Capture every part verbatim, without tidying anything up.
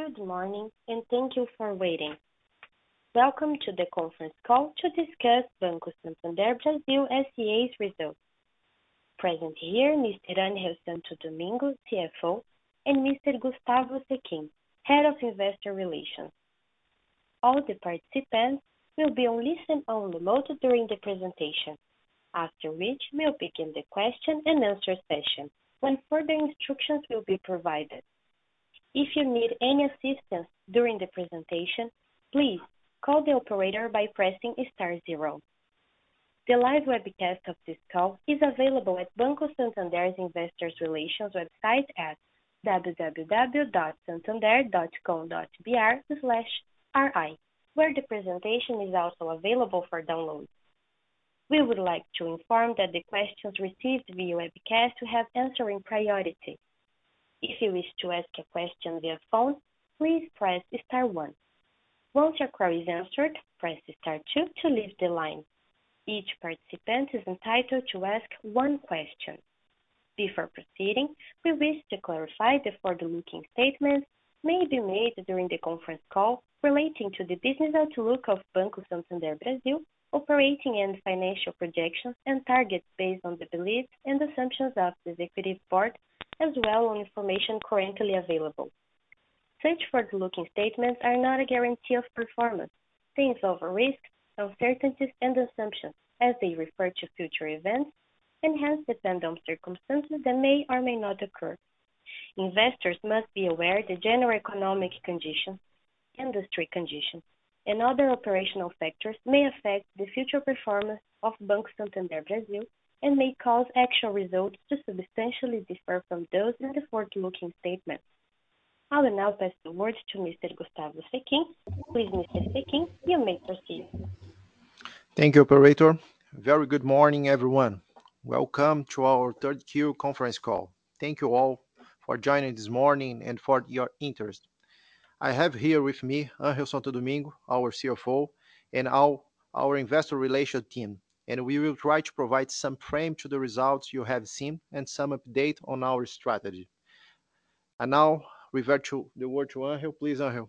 Good morning, and thank you for waiting. Welcome to the conference call to discuss Banco Santander Brasil S C A's results. Present here, Mister Ángel Santo Domingo, C F O, and Mister Gustavo Sechin, Head of Investor Relations. All the participants will be on listen-only mode during the presentation, after which we'll begin the question and answer session, when further instructions will be provided. If you need any assistance during the presentation, please call the operator by pressing star zero. The live webcast of this call is available at Banco Santander's Investor Relations website at w w w dot santander dot com dot b r slash r i, where the presentation is also available for download. We would like to inform that the questions received via webcast will have answering priority. If you wish to ask a question via phone, please press star one. Once your query is answered, press star two to leave the line. Each participant is entitled to ask one question. Before proceeding, we wish to clarify the forward-looking statements may be made during the conference call relating to the business outlook of Banco Santander Brasil, operating and financial projections and targets based on the beliefs and assumptions of the executive board, as well on information currently available. Such forward-looking statements are not a guarantee of performance. They involve risks, uncertainties, and assumptions as they refer to future events and hence depend on circumstances that may or may not occur. Investors must be aware that general economic conditions, industry conditions, and other operational factors may affect the future performance of Banco Santander Brasil and may cause actual results to substantially differ from those in the forward-looking statements. I will now pass the word to Mister Gustavo Sechin. Please, Mister Sechin, you may proceed. Thank you, operator. Very good morning, everyone. Welcome to our third Q conference call. Thank you all for joining this morning and for your interest. I have here with me Ángel Santo Domingo, our C F O, and our, our investor relations team, and we will try to provide some frame to the results you have seen and some update on our strategy. And now, revert to the word to Ángel. Please, Ángel.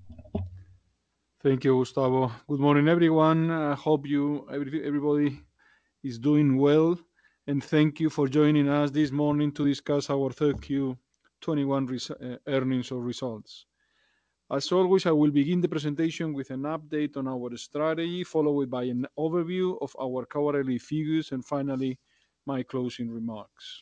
Thank you, Gustavo. Good morning, everyone. I hope you, every, everybody is doing well, and thank you for joining us this morning to discuss our third Q twenty-one res- uh, earnings or results. As always, I will begin the presentation with an update on our strategy, followed by an overview of our quarterly figures, and finally, my closing remarks.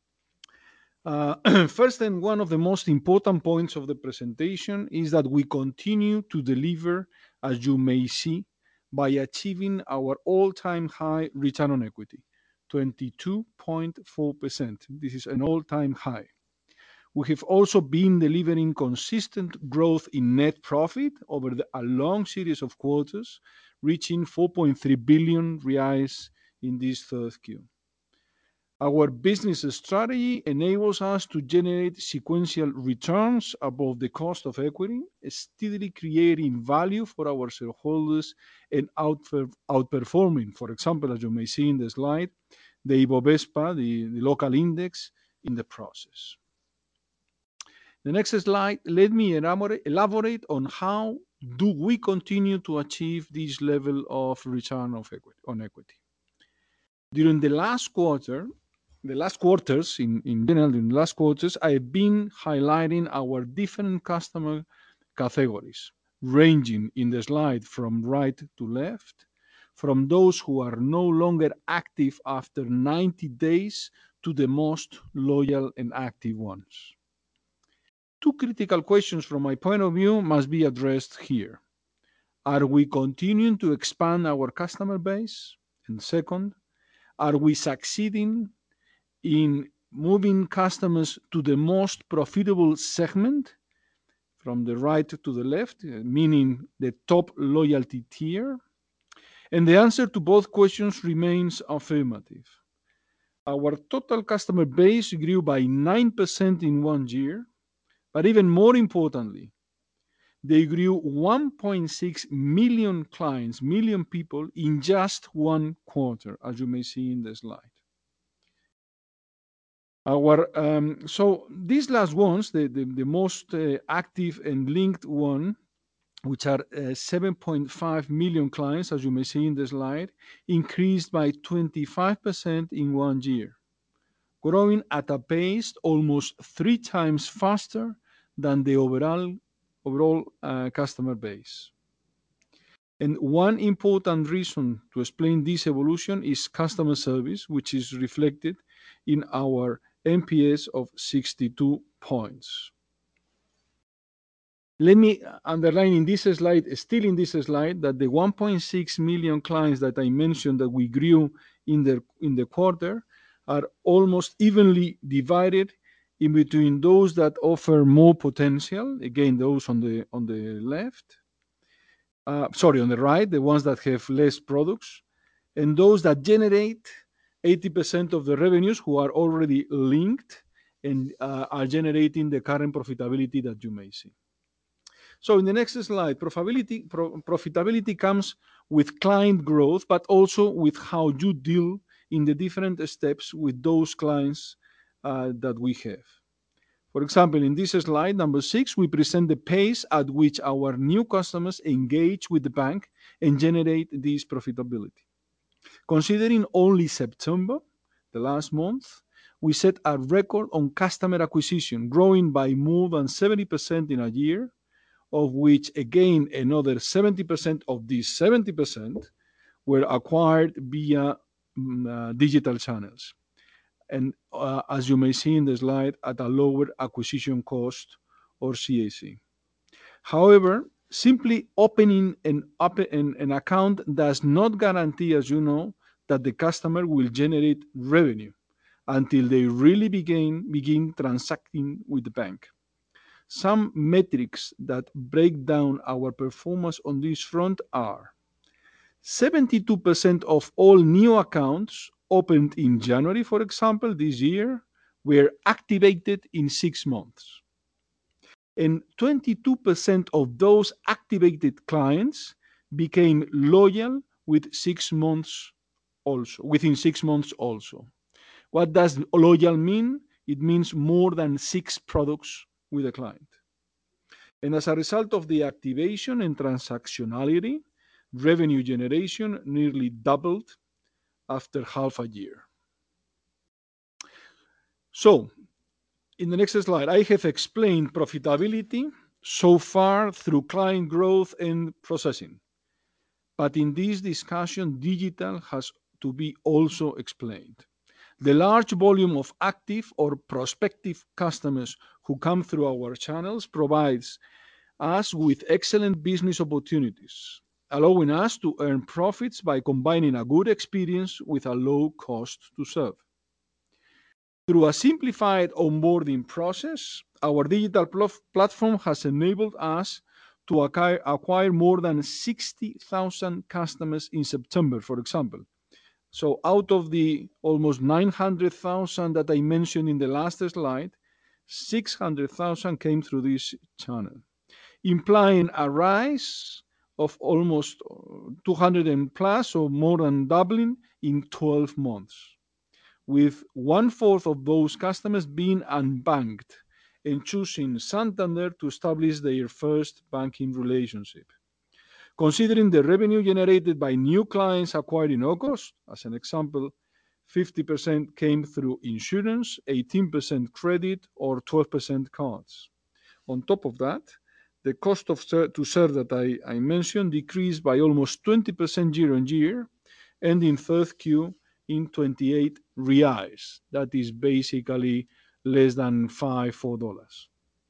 Uh, first, and one of the most important points of the presentation is that we continue to deliver, as you may see, by achieving our all-time high return on equity, twenty-two point four percent. This is an all-time high. We have also been delivering consistent growth in net profit over the, a long series of quarters, reaching four point three billion reais in this third Q. Our business strategy enables us to generate sequential returns above the cost of equity, steadily creating value for our shareholders and outper- outperforming, for example, as you may see in the slide, the Ibovespa, the, the local index, in the process. The next slide, let me elaborate, elaborate on how do we continue to achieve this level of return of equity, on equity. During the last quarter, the last quarters, in, in general, in the last quarters, I have been highlighting our different customer categories, ranging in the slide from right to left, from those who are no longer active after ninety days to the most loyal and active ones. Two critical questions from my point of view must be addressed here. Are we continuing to expand our customer base? And second, are we succeeding in moving customers to the most profitable segment from the right to the left, meaning the top loyalty tier? And the answer to both questions remains affirmative. Our total customer base grew by nine percent in one year, but even more importantly, they grew one point six million clients, million people in just one quarter, as you may see in the slide. Our um, so these last ones, the the, the most uh, active and linked one, which are uh, seven point five million clients, as you may see in the slide, increased by twenty-five percent in one year, growing at a pace almost three times faster than the overall overall uh, customer base. And one important reason to explain this evolution is customer service, which is reflected in our N P S of sixty-two points. Let me underline in this slide, still in this slide, that the one point six million clients that I mentioned that we grew in the in the quarter are almost evenly divided in between those that offer more potential, again those on the on the left, uh, sorry, on the right, the ones that have less products, and those that generate eighty percent of the revenues, who are already linked and uh, are generating the current profitability that you may see. So in the next slide, profitability, pro, profitability comes with client growth, but also with how you deal in the different steps with those clients uh, that we have. For example, in this slide, number six, we present the pace at which our new customers engage with the bank and generate this profitability. Considering only September, the last month, we set a record on customer acquisition, growing by more than seventy percent in a year, of which, again, another seventy percent of these seventy percent were acquired via mm, uh, digital channels. And uh, as you may see in the slide, at a lower acquisition cost, or C A C. However, simply opening an, an, an account does not guarantee, as you know, that the customer will generate revenue until they really begin, begin transacting with the bank. Some metrics that break down our performance on this front are seventy-two percent of all new accounts opened in January, for example, this year, were activated in six months. And twenty-two percent of those activated clients became loyal with six months also, within six months also. What does loyal mean? It means more than six products with a client. And as a result of the activation and transactionality, revenue generation nearly doubled after half a year. So, in the next slide, I have explained profitability so far through client growth and processing. But in this discussion, digital has to be also explained. The large volume of active or prospective customers who come through our channels provides us with excellent business opportunities, allowing us to earn profits by combining a good experience with a low cost to serve. Through a simplified onboarding process, our digital pl- platform has enabled us to acquire, acquire more than sixty thousand customers in September, for example. So out of the almost nine hundred thousand that I mentioned in the last slide, six hundred thousand came through this channel, implying a rise of almost two hundred and plus, or more than doubling in twelve months, with one-fourth of those customers being unbanked and choosing Santander to establish their first banking relationship. Considering the revenue generated by new clients acquired in August, as an example, fifty percent came through insurance, eighteen percent credit, or twelve percent cards. On top of that, the cost of ser- to serve that I, I mentioned decreased by almost twenty percent year on year, and in third Q in twenty-eight reais. That is basically less than five, four dollars.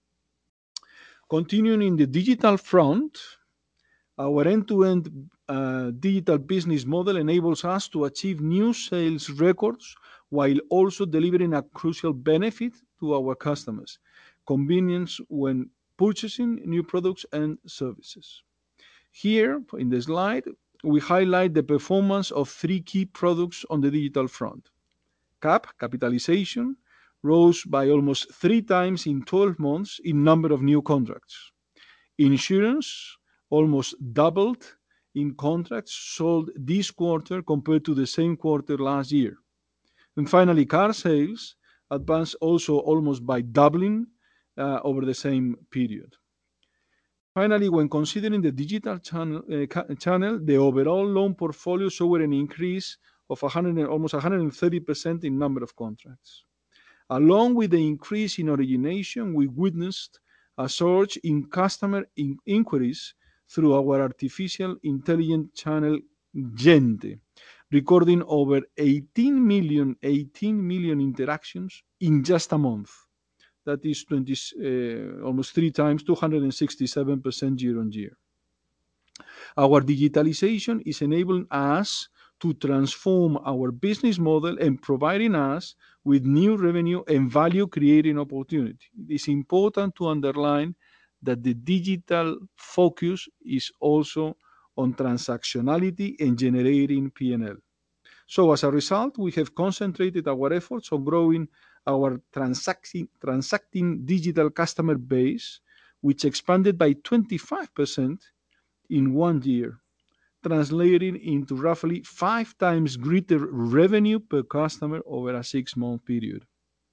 Continuing in the digital front, our end-to-end uh, digital business model enables us to achieve new sales records while also delivering a crucial benefit to our customers: convenience when purchasing new products and services. Here in the slide, we highlight the performance of three key products on the digital front. C A P, capitalization, rose by almost three times in twelve months in number of new contracts. Insurance almost doubled in contracts sold this quarter compared to the same quarter last year. And finally, car sales advanced also almost by doubling uh, over the same period. Finally, when considering the digital channel, uh, channel, the overall loan portfolio showed an increase of one hundred, almost one hundred thirty percent in number of contracts. Along with the increase in origination, we witnessed a surge in customer in inquiries through our artificial intelligence channel Gente, recording over eighteen million, eighteen million interactions in just a month. That is twenty, uh, almost three times, two hundred sixty-seven percent year on year. Our digitalization is enabling us to transform our business model and providing us with new revenue and value creating opportunity. It is important to underline that the digital focus is also on transactionality and generating P and L. So as a result, we have concentrated our efforts on growing our transacting, transacting digital customer base, which expanded by twenty-five percent in one year, translating into roughly five times greater revenue per customer over a six-month period.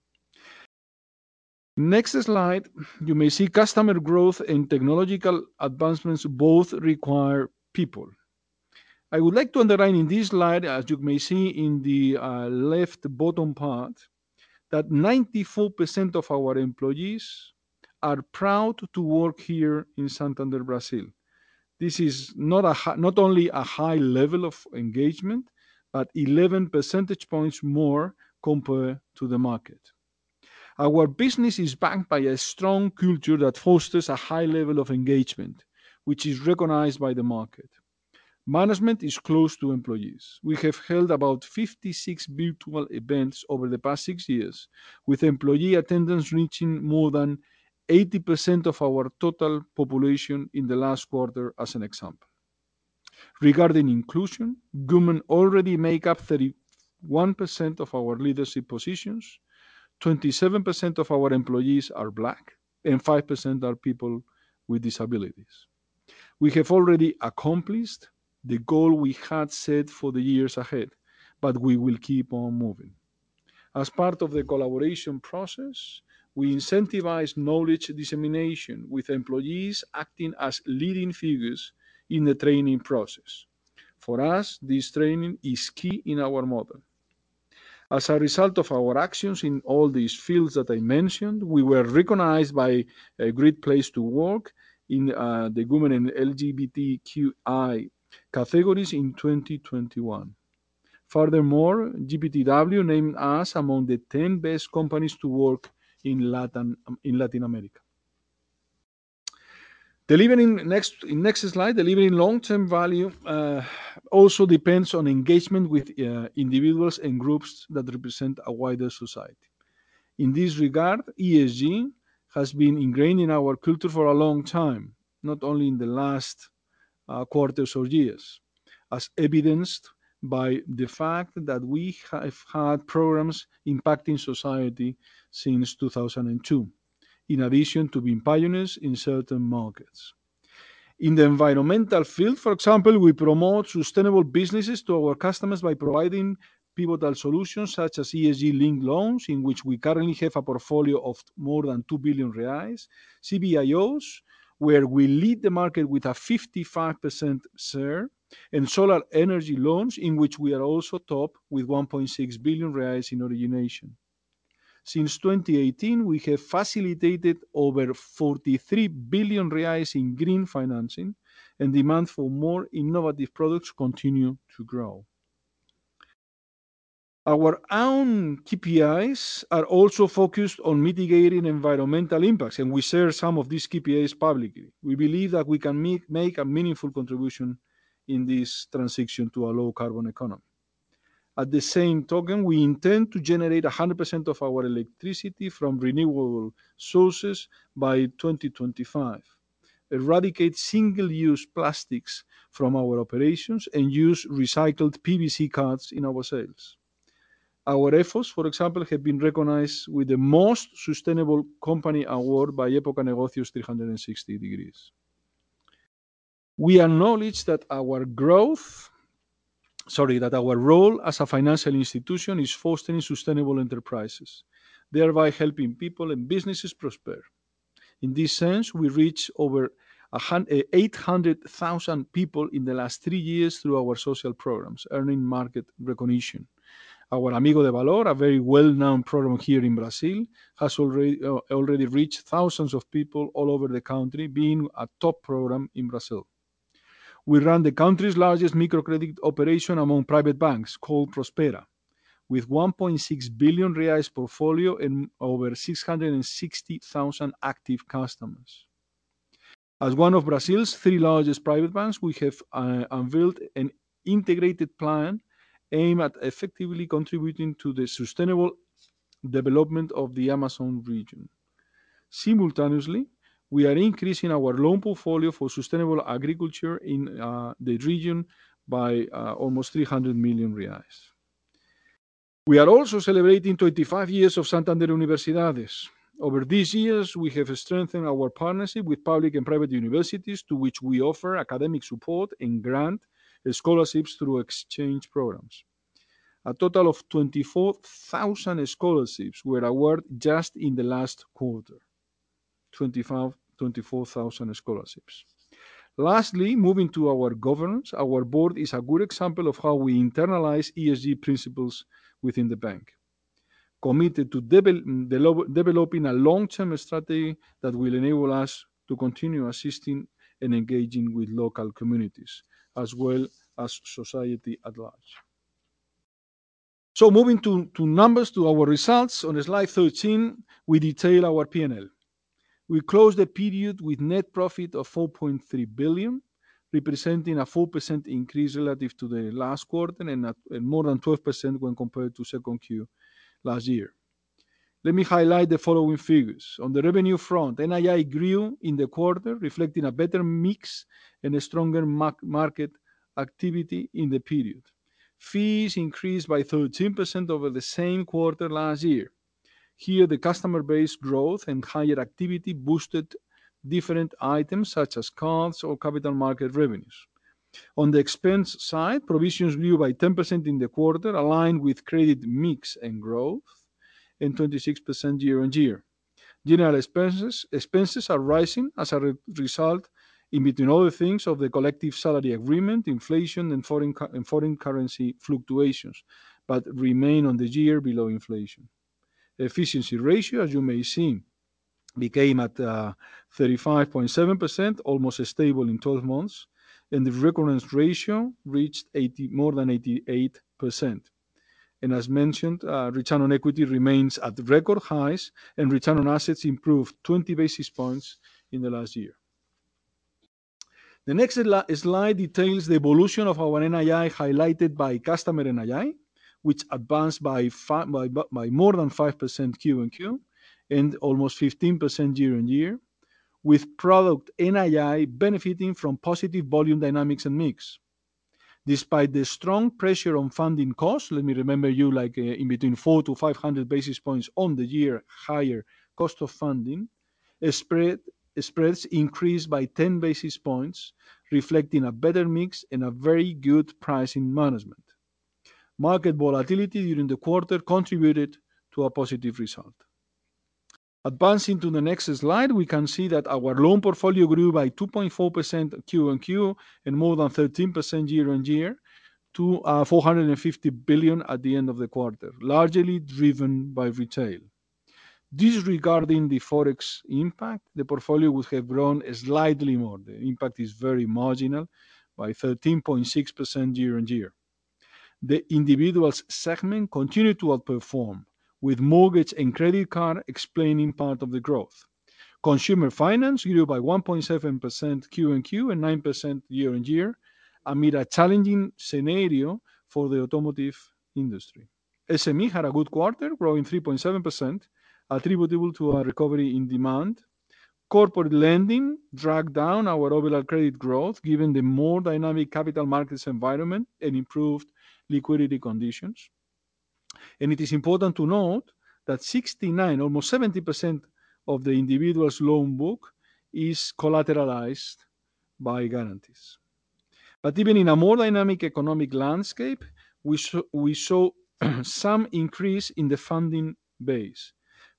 Next slide, you may see customer growth and technological advancements both require people. I would like to underline in this slide, as you may see in the uh, left bottom part, that ninety-four percent of our employees are proud to work here in Santander, Brazil. This is not, a, not only a high level of engagement, but eleven percentage points more compared to the market. Our business is backed by a strong culture that fosters a high level of engagement, which is recognized by the market. Management is close to employees. We have held about fifty-six virtual events over the past six years, with employee attendance reaching more than eighty percent of our total population in the last quarter, as an example. Regarding inclusion, women already make up thirty-one percent of our leadership positions, twenty-seven percent of our employees are Black, and five percent are people with disabilities. We have already accomplished the goal we had set for the years ahead, but we will keep on moving. As part of the collaboration process, we incentivize knowledge dissemination, with employees acting as leading figures in the training process. For us, this training is key in our model. As a result of our actions in all these fields that I mentioned, we were recognized by a Great Place to Work in uh, the women and L G B T Q I categories in twenty twenty-one. Furthermore, G P T W named us among the ten best companies to work in Latin, in Latin America. Delivering next in next slide, delivering long-term value uh, also depends on engagement with uh, individuals and groups that represent a wider society. In this regard, E S G has been ingrained in our culture for a long time, not only in the last uh, quarters or years, as evidenced by the fact that we have had programs impacting society since two thousand two, in addition to being pioneers in certain markets. In the environmental field, for example, we promote sustainable businesses to our customers by providing pivotal solutions such as E S G-linked loans, in which we currently have a portfolio of more than two billion reais, C B I Os, where we lead the market with a fifty-five percent share, and solar energy loans, in which we are also top with one point six billion reais in origination. Since twenty eighteen, we have facilitated over forty-three billion reais in green financing, and demand for more innovative products continue to grow. Our own K P Is are also focused on mitigating environmental impacts, and we share some of these K P Is publicly. We believe that we can make, make a meaningful contribution in this transition to a low carbon economy. At the same token, we intend to generate one hundred percent of our electricity from renewable sources by twenty twenty-five, eradicate single-use plastics from our operations, and use recycled P V C cards in our sales. Our efforts, for example, have been recognized with the Most Sustainable Company Award by Época Negocios three hundred sixty degrees. We acknowledge that our growth sorry, that our role as a financial institution is fostering sustainable enterprises. thereby helping people and businesses prosper. In this sense, we reached over eight hundred thousand people in the last three years through our social programs, earning market recognition. Our Amigo de Valor, a very well-known program here in Brazil, has already, uh, already reached thousands of people all over the country, being a top program in Brazil. We run the country's largest microcredit operation among private banks, called Prospera, with one point six billion reais portfolio and over six hundred sixty thousand active customers. As one of Brazil's three largest private banks, we have uh, unveiled an integrated plan aimed at effectively contributing to the sustainable development of the Amazon region. Simultaneously, we are increasing our loan portfolio for sustainable agriculture in uh, the region by uh, almost three hundred million reais. We are also celebrating twenty-five years of Santander Universidades. Over these years, we have strengthened our partnership with public and private universities, to which we offer academic support and grant scholarships through exchange programs. A total of twenty-four thousand scholarships were awarded just in the last quarter. twenty-four thousand scholarships. Lastly, moving to our governance, our board is a good example of how we internalize E S G principles within the bank, committed to de- developing a long-term strategy that will enable us to continue assisting and engaging with local communities, as well as society at large. So moving to, to numbers, to our results, on slide thirteen, we detail our P and L. We closed the period with net profit of four point three billion, representing a four percent increase relative to the last quarter and, at, and more than twelve percent when compared to second Q last year. Let me highlight the following figures. On the revenue front, N I I grew in the quarter, reflecting a better mix and a stronger market activity in the period. Fees increased by thirteen percent over the same quarter last year. Here, the customer base growth and higher activity boosted different items such as cards or capital market revenues. On the expense side, provisions grew by ten percent in the quarter, aligned with credit mix and growth, and twenty-six percent year-on-year. General expenses, expenses are rising as a re- result, in between other things, of the collective salary agreement, inflation, and foreign, and foreign currency fluctuations, but remain on the year below inflation. Efficiency ratio, as you may see, became at uh, thirty-five point seven percent, almost stable in twelve months, and the recurrence ratio reached eighty, more than eighty-eight percent. And as mentioned, uh, return on equity remains at record highs, and return on assets improved twenty basis points in the last year. The next slide details the evolution of our N I I, highlighted by customer N I I, which advanced by, five, by, by more than five percent Q on Q and almost fifteen percent year on year, with product N I I benefiting from positive volume dynamics and mix. Despite the strong pressure on funding costs, let me remember you like uh, in between four to five hundred basis points on the year higher cost of funding, spread, spreads increased by ten basis points, reflecting a better mix and a very good pricing management. Market volatility during the quarter contributed to a positive result. Advancing to the next slide, we can see that our loan portfolio grew by two point four percent Q on Q and more than thirteen percent year on year to uh, four hundred fifty billion at the end of the quarter, largely driven by retail. Disregarding the forex impact, the portfolio would have grown slightly more. The impact is very marginal, by thirteen point six percent year on year. The individuals segment continued to outperform, with mortgage and credit card explaining part of the growth. Consumer finance grew by one point seven percent Q on Q and nine percent year on year, amid a challenging scenario for the automotive industry. S M E had a good quarter, growing three point seven percent, attributable to a recovery in demand. Corporate lending dragged down our overall credit growth, given the more dynamic capital markets environment and improved liquidity conditions. And it is important to note that sixty-nine, almost seventy percent of the individual's loan book is collateralized by guarantees. But even in a more dynamic economic landscape, we saw, we saw some increase in the funding base.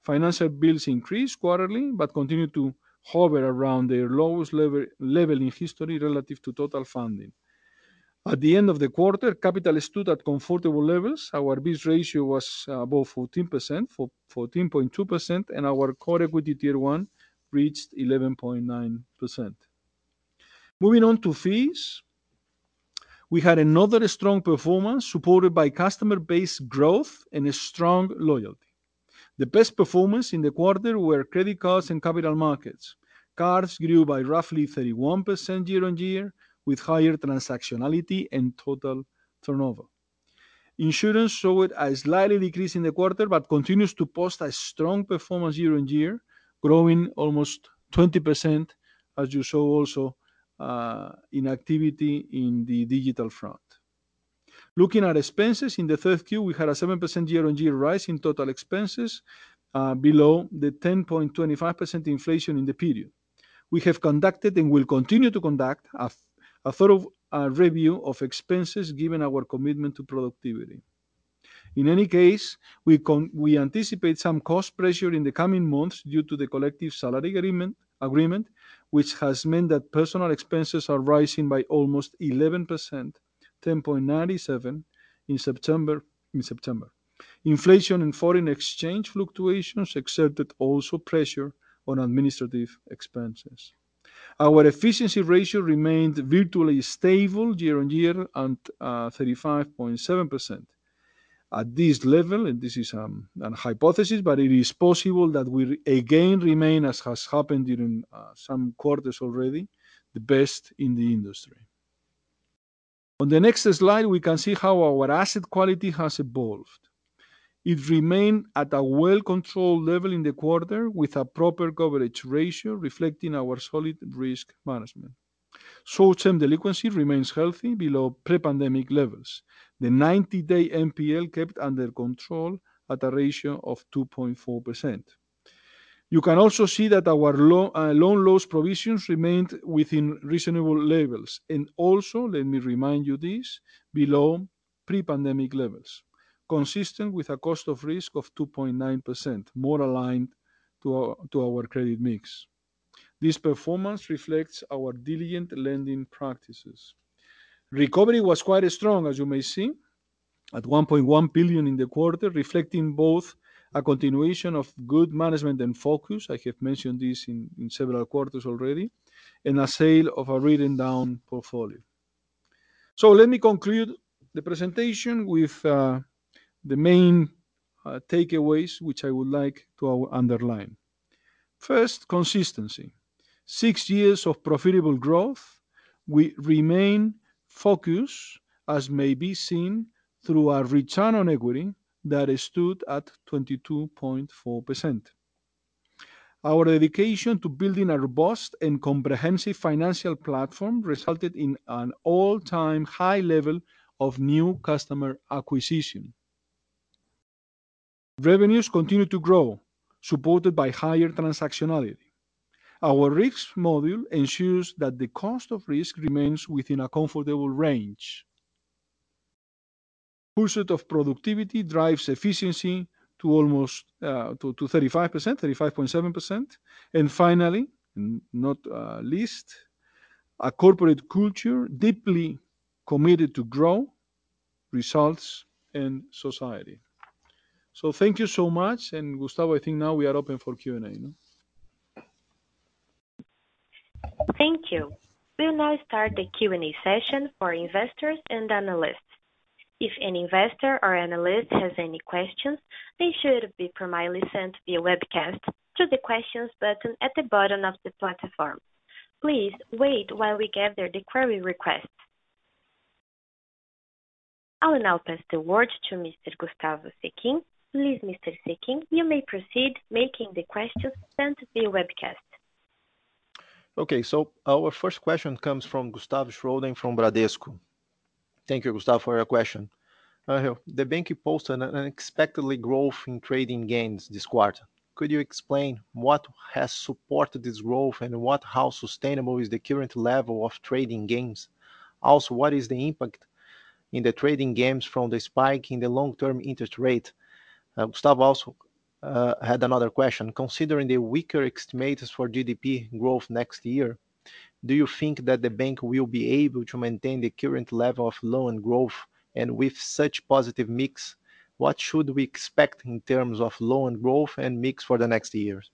Financial bills increased quarterly, but continue to hover around their lowest level, level in history relative to total funding. At the end of the quarter, capital stood at comfortable levels. Our B I S ratio was above fourteen percent, for fourteen point two percent, and our core equity tier one reached eleven point nine percent. Moving on to fees, we had another strong performance supported by customer base growth and a strong loyalty. The best performance in the quarter were credit cards and capital markets. Cards grew by roughly thirty-one percent year-on-year, with higher transactionality and total turnover. Insurance showed a slightly decrease in the quarter, but continues to post a strong performance year-on-year, growing almost twenty percent, as you saw also uh, in activity in the digital front. Looking at expenses, in the third Q, we had a seven percent year-on-year rise in total expenses, uh, below the ten point two five percent inflation in the period. We have conducted and will continue to conduct a, a thorough uh, review of expenses given our commitment to productivity. In any case, we, con- we anticipate some cost pressure in the coming months due to the collective salary agreement, agreement, which has meant that personal expenses are rising by almost eleven percent, ten point nine seven in September. In September, inflation and foreign exchange fluctuations exerted also pressure on administrative expenses. Our efficiency ratio remained virtually stable year-on-year at uh, thirty-five point seven percent. At this level, and this is um, an hypothesis, but it is possible that we again remain, as has happened during uh, some quarters already, the best in the industry. On the next slide, we can see how our asset quality has evolved. It remained at a well-controlled level in the quarter with a proper coverage ratio reflecting our solid risk management. Short-term delinquency remains healthy, below pre-pandemic levels. The ninety-day N P L kept under control at a ratio of two point four percent. You can also see that our lo- uh, loan loss provisions remained within reasonable levels, and also, let me remind you this, below pre-pandemic levels, consistent with a cost of risk of two point nine percent, more aligned to our, to our credit mix. This performance reflects our diligent lending practices. Recovery was quite strong, as you may see, at one point one billion in the quarter, reflecting both a continuation of good management and focus, I have mentioned this in, in several quarters already, and a sale of a written down portfolio. So let me conclude the presentation with uh, the main uh, takeaways which I would like to underline. First, consistency. Six years of profitable growth, we remain focused, as may be seen through our return on equity that stood at twenty-two point four percent. Our dedication to building a robust and comprehensive financial platform resulted in an all-time high level of new customer acquisition. Revenues continue to grow, supported by higher transactionality. Our risk module ensures that the cost of risk remains within a comfortable range. Pursuit of productivity drives efficiency to almost uh, to, to thirty-five percent, thirty-five point seven percent. And finally, not uh, least, a corporate culture deeply committed to grow, results, and society. So thank you so much. And Gustavo, I think now we are open for Q and A. No? Thank you. We'll now start the Q and A session for investors and analysts. If an investor or analyst has any questions, they should be primarily sent via webcast to the questions button at the bottom of the platform. Please wait while we gather the query requests. I will now pass the word to Mister Gustavo Sequin. Please, Mister Sequin, you may proceed making the questions sent via webcast. Okay, so our first question comes from Gustavo Schroden from Bradesco. Thank you, Gustavo, for your question. Uh, the bank posted an unexpectedly growth in trading gains this quarter. Could you explain what has supported this growth and what how sustainable is the current level of trading gains? Also, what is the impact in the trading gains from the spike in the long-term interest rate? Uh, Gustavo also uh, had another question. Considering the weaker estimates for G D P growth next year, do you think that the bank will be able to maintain the current level of loan growth? And with such positive mix, what should we expect in terms of loan growth and mix for the next years?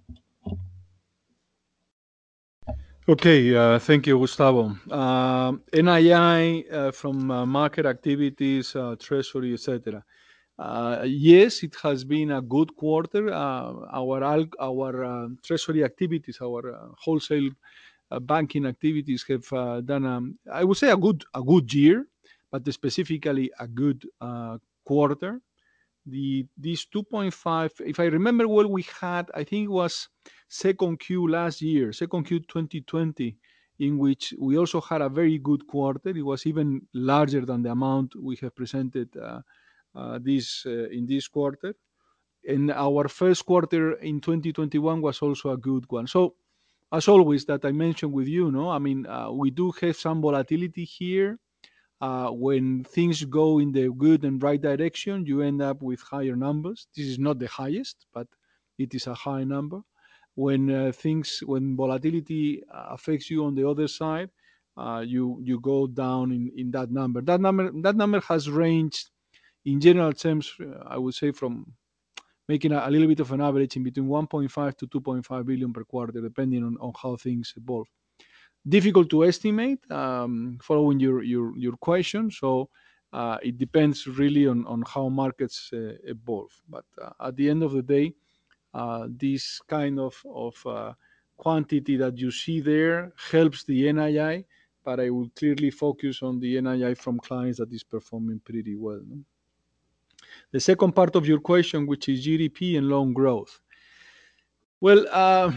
Okay, uh, thank you, Gustavo. Um N I I uh, from uh, market activities, uh, treasury, et cetera. Uh, yes, it has been a good quarter. Uh, our al- our uh, treasury activities, our uh, wholesale uh, banking activities have uh, done, um, I would say, a good a good year, but specifically a good uh, quarter. The These two point five, if I remember well, we had, I think it was second Q last year, second Q twenty twenty, in which we also had a very good quarter. It was even larger than the amount we have presented uh, uh, this uh, in this quarter. And our first quarter in twenty twenty-one was also a good one. So as always that I mentioned with you, no, I mean, uh, we do have some volatility here. Uh, when things go in the good and right direction, you end up with higher numbers. This is not the highest, but it is a high number. When uh, things, when volatility uh, affects you on the other side, uh, you you go down in, in that number. That number that number has ranged in general terms. Uh, I would say from making a, a little bit of an average in between one point five to two point five billion per quarter, depending on, on how things evolve. Difficult to estimate, um, following your, your, your question. So uh, it depends really on, on how markets uh, evolve. But uh, at the end of the day, uh, this kind of, of uh, quantity that you see there helps the N I I, but I will clearly focus on the N I I from clients that is performing pretty well. No? The second part of your question, which is G D P and loan growth. Well, uh,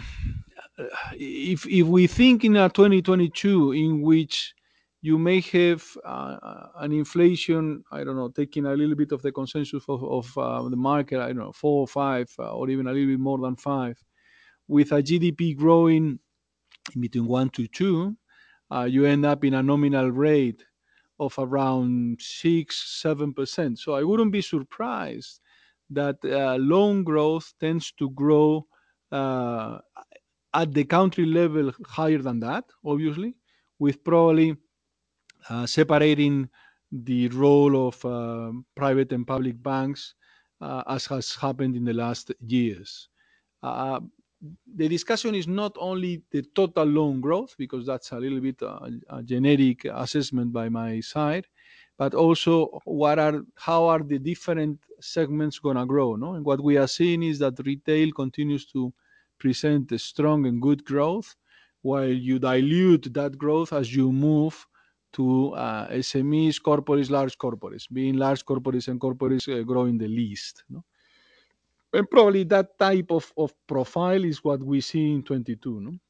if if we think in a twenty twenty-two in which you may have uh, an inflation, I don't know, taking a little bit of the consensus of, of uh, the market, I don't know, four or five, uh, or even a little bit more than five, with a G D P growing in between one to two, uh, you end up in a nominal rate of around six, seven percent. So I wouldn't be surprised that uh, loan growth tends to grow uh, at the country level higher than that, obviously, with probably uh, separating the role of uh, private and public banks uh, as has happened in the last years. Uh, the discussion is not only the total loan growth, because that's a little bit uh, a generic assessment by my side, but also what are how are the different segments going to grow. No, and what we are seeing is that retail continues to present a strong and good growth, while you dilute that growth as you move to uh, S M Es, corporates, large corporates, being large corporates and corporates uh, growing the least. No? And probably that type of, of profile is what we see in twenty-two. No?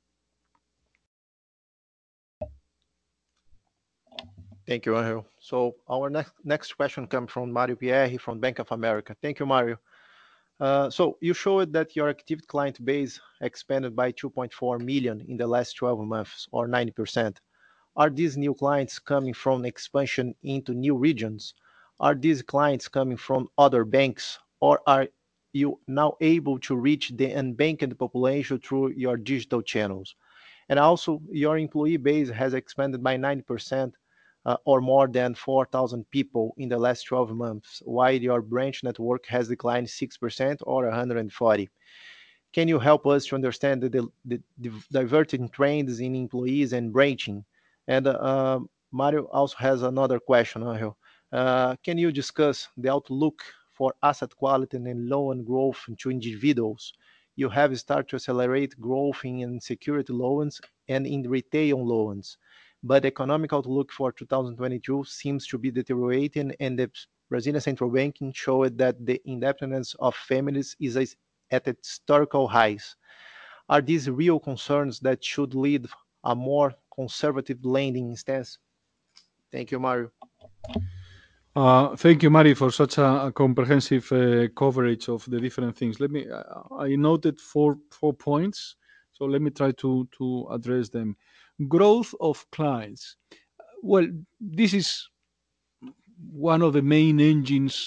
Thank you, Angel. So our next next question comes from Mario Pierre from Bank of America. Thank you, Mario. Uh, so you showed that your active client base expanded by two point four million in the last twelve months, or ninety percent. Are these new clients coming from expansion into new regions? Are these clients coming from other banks, or are you now able to reach the unbanked population through your digital channels? And also, your employee base has expanded by ninety percent uh, or more than four thousand people in the last twelve months, while your branch network has declined six percent or one hundred forty. Can you help us to understand the, the, the diverging trends in employees and branching? And uh, Mario also has another question, Angel. Uh, can you discuss the outlook for asset quality and loan growth to individuals? You have started to accelerate growth in security loans and in retail loans, but the economic outlook for two thousand twenty-two seems to be deteriorating, and the Brazilian Central Bank showed that the indebtedness of families is at historical highs. Are these real concerns that should lead a more conservative lending stance? Thank you, Mario. Uh, thank you, Mari, for such a, a comprehensive uh, coverage of the different things. Let me. Uh, I noted four four points, so let me try to to address them. Growth of clients. Well, this is one of the main engines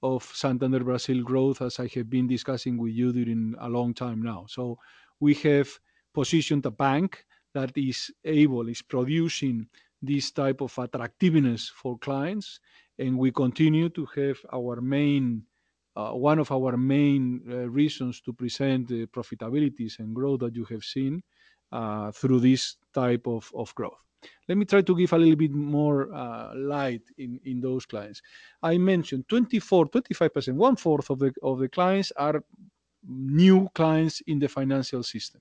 of Santander Brazil growth, as I have been discussing with you during a long time now. So we have positioned a bank that is able, is producing this type of attractiveness for clients, and we continue to have our main, uh, one of our main uh, reasons to present the profitabilities and growth that you have seen uh, through this type of, of growth. Let me try to give a little bit more uh, light in, in those clients. I mentioned twenty-four, twenty-five percent, one fourth of the of the clients are new clients in the financial system.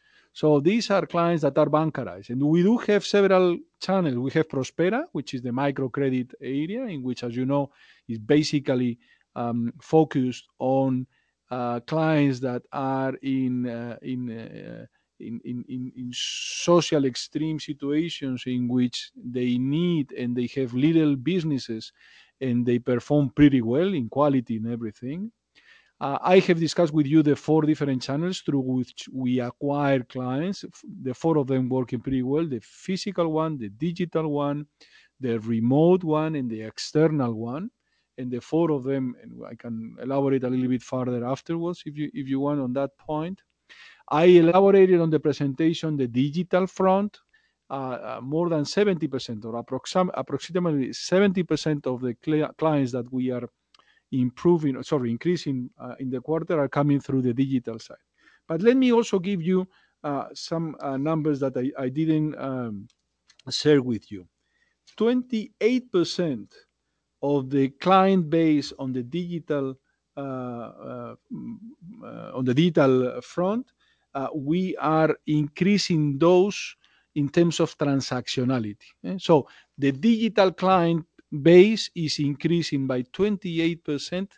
So these are clients that are bancarized, and we do have several channels. We have Prospera, which is the microcredit area, in which, as you know, is basically um, focused on uh, clients that are in uh, in, uh, in, in in in social extreme situations in which they need and they have little businesses, and they perform pretty well in quality and everything. uh, I have discussed with you the four different channels through which we acquire clients. The four of them working pretty well: the physical one, the digital one, the remote one, and the external one. And the four of them, and I can elaborate a little bit further afterwards if you if you want on that point. I elaborated on the presentation the digital front. Uh, uh, more than seventy percent or approxim- approximately seventy percent of the cli- clients that we are improving, sorry, increasing uh, in the quarter are coming through the digital side. But let me also give you uh, some uh, numbers that I, I didn't um, share with you. twenty-eight percent of the client base on the digital uh, uh, mm, uh, on the digital front, uh, we are increasing those in terms of transactionality. eh. So the digital client base is increasing by twenty-eight percent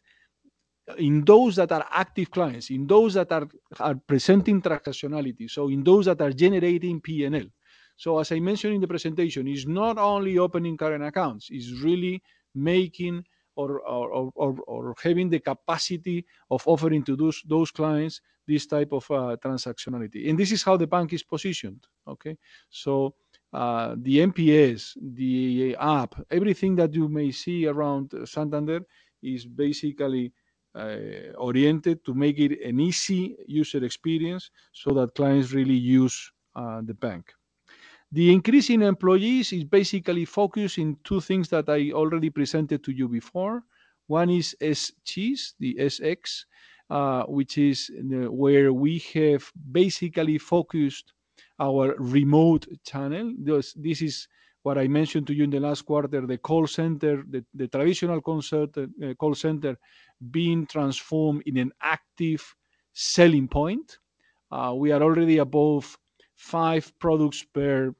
in those that are active clients, in those that are, are presenting transactionality, so in those that are generating P and L. So as I mentioned in the presentation, it's not only opening current accounts, it's really making or, or, or, or, or having the capacity of offering to those, those clients this type of uh, transactionality. And this is how the bank is positioned, okay? So uh, the N P S, the app, everything that you may see around Santander is basically uh, oriented to make it an easy user experience so that clients really use uh, the bank. The increase in employees is basically focused in two things that I already presented to you before. One is S Gs, the S X, uh, which is the, where we have basically focused our remote channel. This, this is what I mentioned to you in the last quarter, the call center, the, the traditional concert, uh, call center being transformed in an active selling point. Uh, we are already above five products per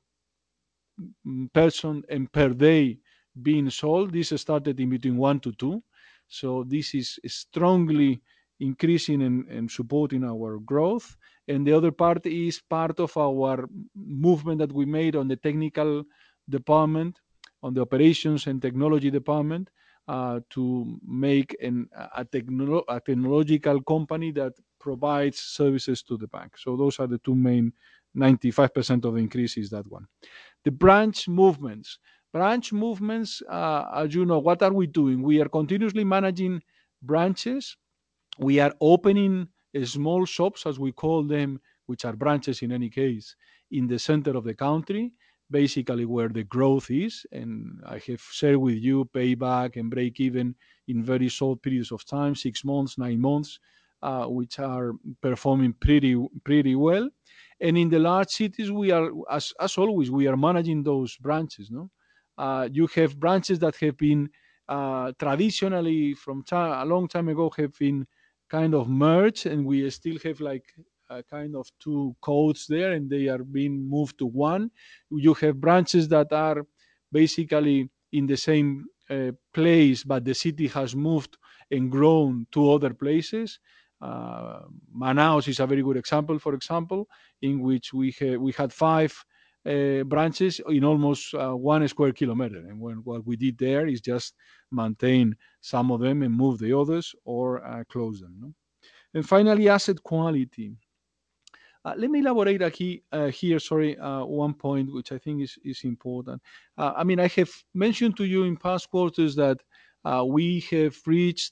mm, person and per day being sold. This started in between one to two. So this is strongly increasing and, and supporting our growth. And the other part is part of our movement that we made on the technical department, on the operations and technology department, uh, to make an, a, technolo- a technological company that provides services to the bank. So those are the two main. ninety-five percent of the increase is that one. The branch movements. Branch movements, uh, as you know, what are we doing? We are continuously managing branches. We are opening uh, small shops, as we call them, which are branches in any case, in the center of the country, basically where the growth is. And I have shared with you payback and break even in very short periods of time, six months, nine months, uh, which are performing pretty pretty well. And in the large cities, we are, as, as always, we are managing those branches. No, uh, you have branches that have been uh, traditionally from time, a long time ago have been kind of merged, and we still have like a kind of two codes there, and they are being moved to one. You have branches that are basically in the same uh, place, but the city has moved and grown to other places. Uh, Manaus is a very good example, for example, in which we ha- we had five uh, branches in almost uh, one square kilometer, and when, what we did there is just maintain some of them and move the others or uh, close them. No? And finally, asset quality. Uh, let me elaborate aquí, uh, here, sorry, uh, one point which I think is, is important. Uh, I mean, I have mentioned to you in past quarters that uh, we have reached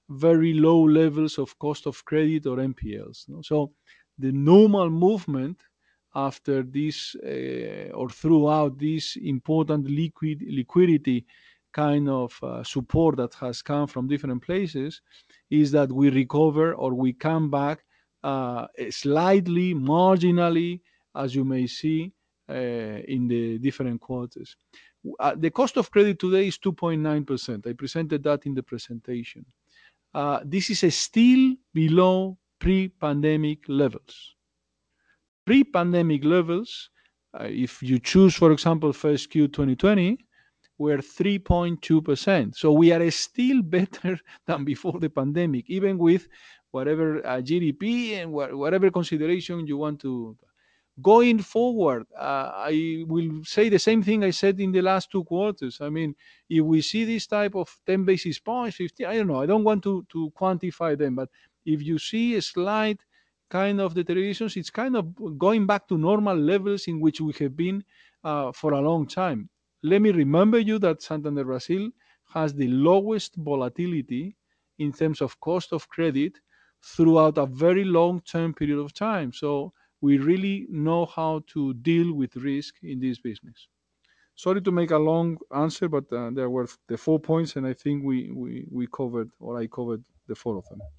very low levels of cost of credit or N P Ls. No? So the normal movement after this uh, or throughout this important liquid liquidity kind of uh, support that has come from different places is that we recover or we come back uh, slightly, marginally, as you may see uh, in the different quarters. Uh, the cost of credit today is two point nine percent. I presented that in the presentation. Uh, this is still below pre-pandemic levels. Pre-pandemic levels, uh, if you choose, for example, first Q twenty twenty, were three point two percent. So we are still better than before the pandemic, even with whatever uh, G D P and wha- whatever consideration you want to. Going forward, uh, I will say the same thing I said in the last two quarters. I mean, if we see this type of ten basis points, fifty, I don't know, I don't want to, to quantify them, but if you see a slight kind of deteriorations, it's kind of going back to normal levels in which we have been uh, for a long time. Let me remember you that Santander Brazil has the lowest volatility in terms of cost of credit throughout a very long term period of time. So we really know how to deal with risk in this business. Sorry to make a long answer, but uh, there were the four points, and I think we, we, we covered, or I covered the four of them.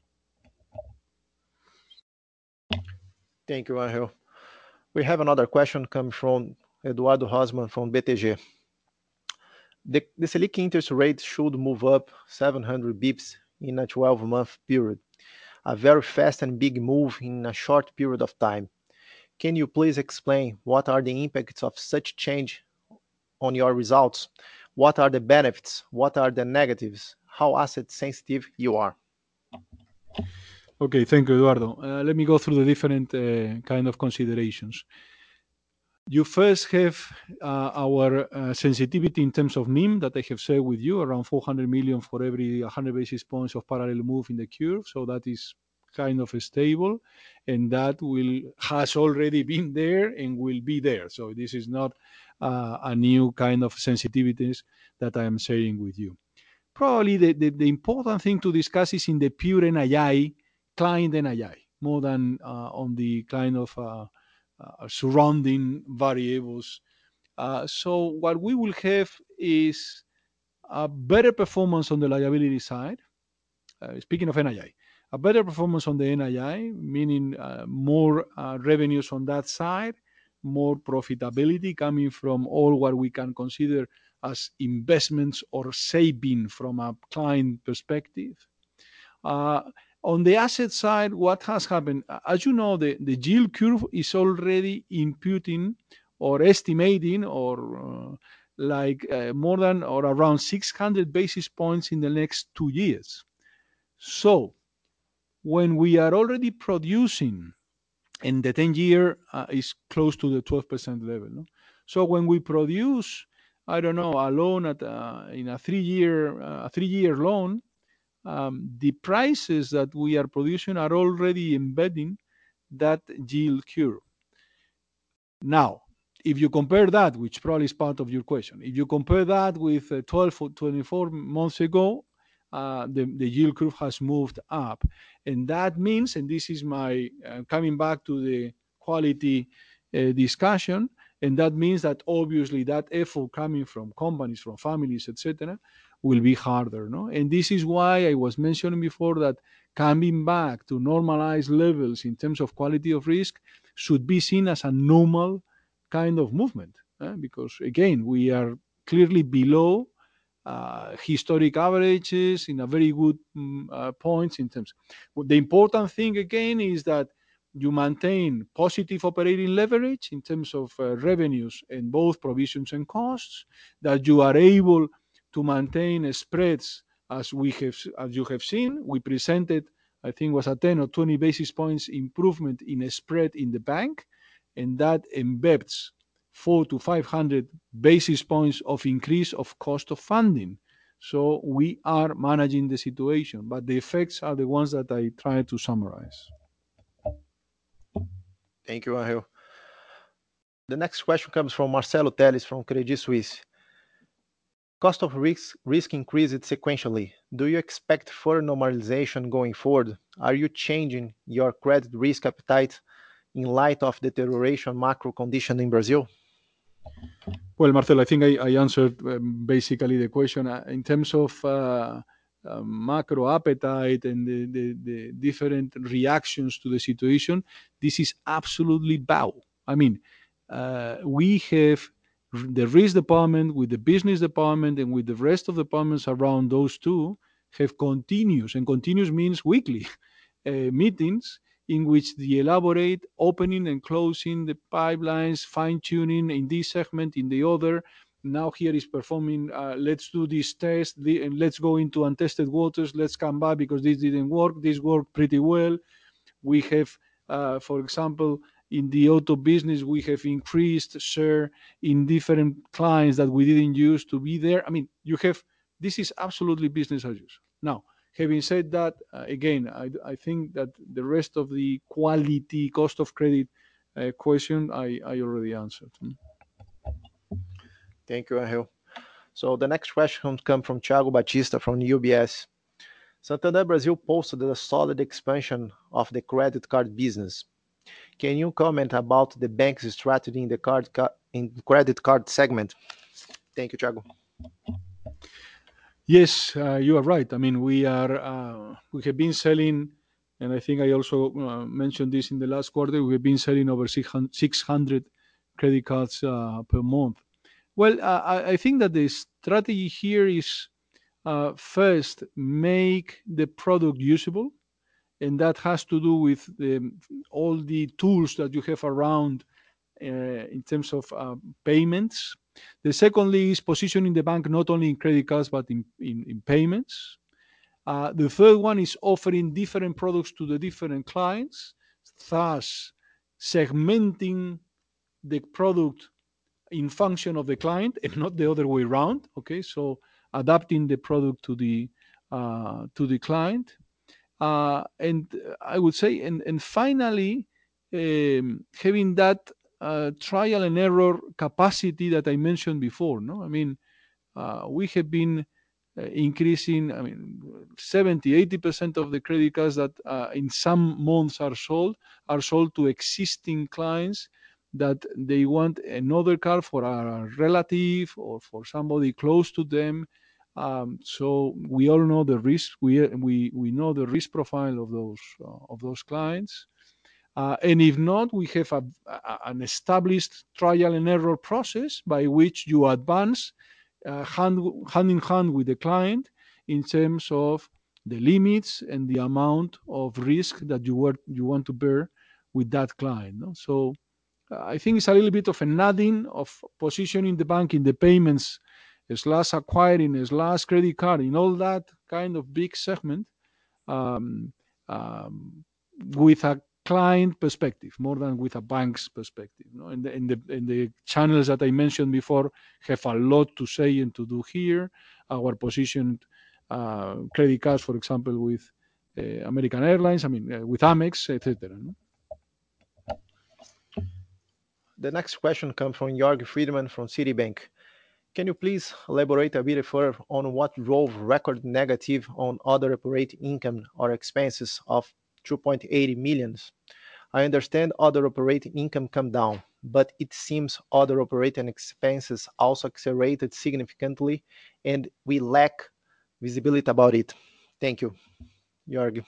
Thank you, Angel. We have another question coming from Eduardo Rosman from B T G. The, the Selic interest rate should move up seven hundred bips in a twelve-month period, a very fast and big move in a short period of time. Can you please explain what are the impacts of such change on your results? What are the benefits? What are the negatives? How asset sensitive you are? Okay, thank you, Eduardo. Uh, let me go through the different uh, kind of considerations. You first have uh, our uh, sensitivity in terms of N I M that I have shared with you, around four hundred million for every one hundred basis points of parallel move in the curve. So that is kind of stable, and that will has already been there and will be there. So this is not uh, a new kind of sensitivities that I am sharing with you. Probably the, the, the important thing to discuss is in the pure N I I, client N I I, more than uh, on the kind of uh, uh, surrounding variables. Uh, so what we will have is a better performance on the liability side. Uh, speaking of N I I, a better performance on the N I I, meaning uh, more uh, revenues on that side, more profitability coming from all what we can consider as investments or saving from a client perspective. Uh, on the asset side, what has happened? As you know, the, the yield curve is already imputing or estimating or uh, like uh, more than or around six hundred basis points in the next two years. So when we are already producing, and the ten year uh, is close to the twelve percent level. No? So when we produce, I don't know, a loan at uh, in a three year uh, a three year loan, um, the prices that we are producing are already embedding that yield curve. Now, if you compare that, which probably is part of your question, if you compare that with uh, twelve or twenty-four months ago, uh, the, the yield curve has moved up. And that means, and this is my uh, coming back to the quality uh, discussion, and that means that obviously that effort coming from companies, from families, et cetera, will be harder. No? And this is why I was mentioning before that coming back to normalized levels in terms of quality of risk should be seen as a normal kind of movement, eh? Because again, we are clearly below uh, historic averages in a very good mm, uh, points in terms. Well, the important thing again is that you maintain positive operating leverage in terms of uh, revenues and both provisions and costs, that you are able to maintain spreads as we have as you have seen. We presented, I think, was a ten or twenty basis points improvement in a spread in the bank, and that embeds four to five hundred basis points of increase of cost of funding. So we are managing the situation, but the effects are the ones that I try to summarize. Thank you, Angel. The next question comes from Marcelo Teles from Credit Suisse. Cost of risk risk increased sequentially. Do you expect further normalization going forward? Are you changing your credit risk appetite in light of deterioration macro condition in Brazil? Well, Marcel, I think I, I answered um, basically the question. Uh, in terms of uh, uh, macro appetite and the, the, the different reactions to the situation, this is absolutely bow. I mean, uh, we have the risk department with the business department and with the rest of the departments around those two have continuous, and continuous means weekly uh, meetings in which they elaborate opening and closing the pipelines, fine tuning in this segment, in the other. Now here is performing. Uh, let's do this test, the, and let's go into untested waters. Let's come back because this didn't work. This worked pretty well. We have, uh, for example, in the auto business, we have increased share in different clients that we didn't use to be there. I mean, you have this is absolutely business as usual. Now, having said that, uh, again, I, I think that the rest of the quality cost of credit uh, question I, I already answered. Hmm. Thank you, Angel. So the next question comes from Thiago Batista from U B S. Santander Brazil posted a solid expansion of the credit card business. Can you comment about the bank's strategy in the card ca- in credit card segment? Thank you, Thiago. Yes, uh, you are right. I mean, we are uh, we have been selling, and I think I also uh, mentioned this in the last quarter. We have been selling over six hundred credit cards uh, per month. Well, uh, I, I think that the strategy here is uh, first make the product usable, and that has to do with the, all the tools that you have around uh, in terms of uh, payments. The secondly is positioning the bank not only in credit cards but in, in, in payments. Uh, the third one is offering different products to the different clients, thus segmenting the product in function of the client and not the other way around. Okay, so adapting the product to the uh, to the client, uh, and I would say, and and finally, um, having that uh, trial and error capacity that I mentioned before. No, I mean, uh, we have been uh, increasing. I mean, seventy, eighty percent of the credit cards that uh, in some months are sold are sold to existing clients that they want another card for a relative or for somebody close to them. Um, so we all know the risk. We we we know the risk profile of those uh, of those clients. Uh, and if not, we have a, a, an established trial and error process by which you advance uh, hand, hand in hand with the client in terms of the limits and the amount of risk that you were, you want to bear with that client. No? So uh, I think it's a little bit of a nudging of positioning the bank in the payments slash acquiring slash credit card in all that kind of big segment, um, um, with a client perspective more than with a bank's perspective. You know? and, the, and, the, and the channels that I mentioned before have a lot to say and to do here. Our positioned uh, credit cards, for example, with uh, American Airlines, I mean, uh, with Amex, et cetera. No? The next question comes from Jörg Friedman from Citibank. Can you please elaborate a bit further on what drove record negative on other operating income or expenses of two point eight million? I understand other operating income come down, but it seems other operating expenses also accelerated significantly, and we lack visibility about it. Thank you, Jörg.